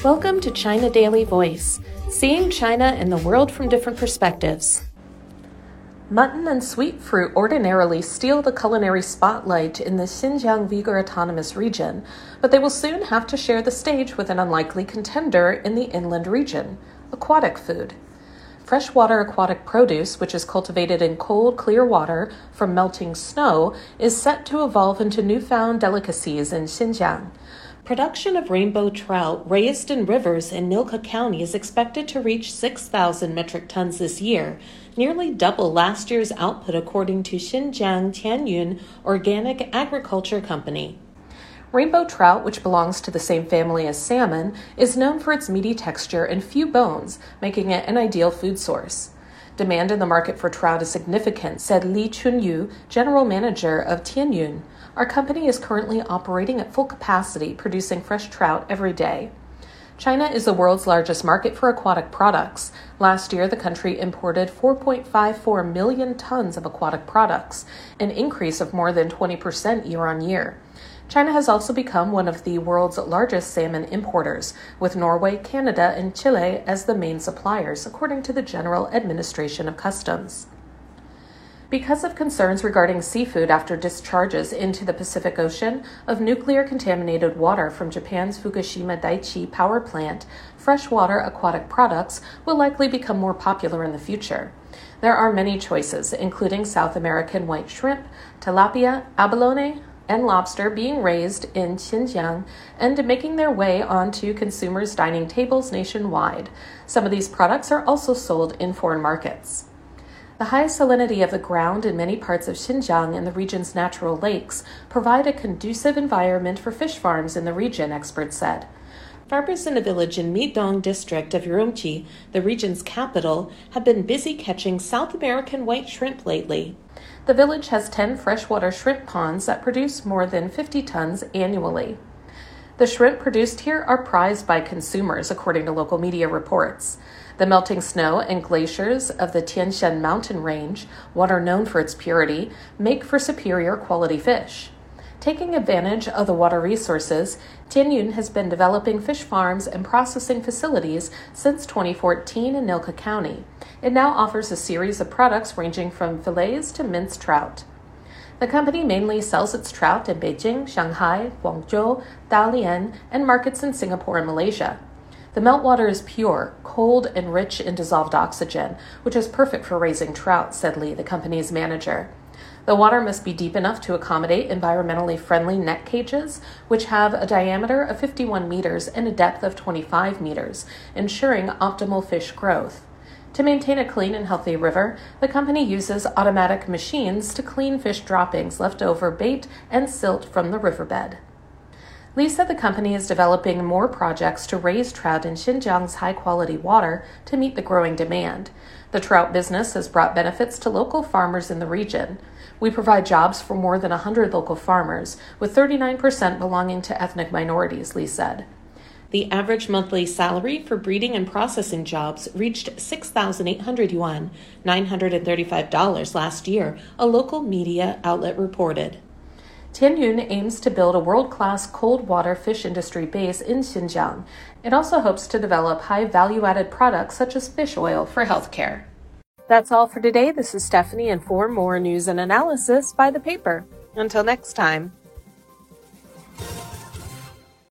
Welcome to China Daily Voice, seeing China and the world from different perspectives. Mutton and sweet fruit ordinarily steal the culinary spotlight in the Xinjiang Uyghur Autonomous Region, but they will soon have to share the stage with an unlikely contender in the inland region, aquatic food. Freshwater aquatic produce, which is cultivated in cold, clear water from melting snow, is set to evolve into newfound delicacies in Xinjiang. Production of rainbow trout raised in rivers in Nilka County is expected to reach 6,000 metric tons this year, nearly double last year's output according to Xinjiang Tianyun Organic Agriculture Company. Rainbow trout, which belongs to the same family as salmon, is known for its meaty texture and few bones, making it an ideal food source. Demand in the market for trout is significant, said Li Chunyu, general manager of Tianyun. Our company is currently operating at full capacity, producing fresh trout every day. China is the world's largest market for aquatic products. Last year, the country imported 4.54 million tons of aquatic products, an increase of more than 20% year on year. China has also become one of the world's largest salmon importers, with Norway, Canada, and Chile as the main suppliers, according to the General Administration of Customs. Because of concerns regarding seafood after discharges into the Pacific Ocean of nuclear-contaminated water from Japan's Fukushima Daiichi power plant, freshwater aquatic products will likely become more popular in the future. There are many choices, including South American white shrimp, tilapia, abalone, and lobster being raised in Xinjiang and making their way onto consumers' dining tables nationwide. Some of these products are also sold in foreign markets. The high salinity of the ground in many parts of Xinjiang and the region's natural lakes provide a conducive environment for fish farms in the region, experts said. Farmers in a village in Midong district of Urumqi, the region's capital, have been busy catching South American white shrimp lately. The village has 10 freshwater shrimp ponds that produce more than 50 tons annually. The shrimp produced here are prized by consumers, according to local media reports. The melting snow and glaciers of the Tian Shan mountain range, water known for its purity, make for superior quality fish. Taking advantage of the water resources, Tianyun has been developing fish farms and processing facilities since 2014 in Nilka County. It now offers a series of products ranging from fillets to minced trout. The company mainly sells its trout in Beijing, Shanghai, Guangzhou, Dalian, and markets in Singapore and Malaysia. The meltwater is pure, cold, and rich in dissolved oxygen, which is perfect for raising trout, said Li, the company's manager. The water must be deep enough to accommodate environmentally friendly net cages, which have a diameter of 51 meters and a depth of 25 meters, ensuring optimal fish growth. To maintain a clean and healthy river, the company uses automatic machines to clean fish droppings, leftover bait, and silt from the riverbed. Li said the company is developing more projects to raise trout in Xinjiang's high-quality water to meet the growing demand. The trout business has brought benefits to local farmers in the region. We provide jobs for more than 100 local farmers, with 39% belonging to ethnic minorities, Li said. The average monthly salary for breeding and processing jobs reached 6,800 yuan, $935 last year, a local media outlet reported. Tianyun aims to build a world-class cold water fish industry base in Xinjiang. It also hopes to develop high value-added products such as fish oil for healthcare. That's all for today. This is Stephanie, and for more news and analysis, buy the paper. Until next time.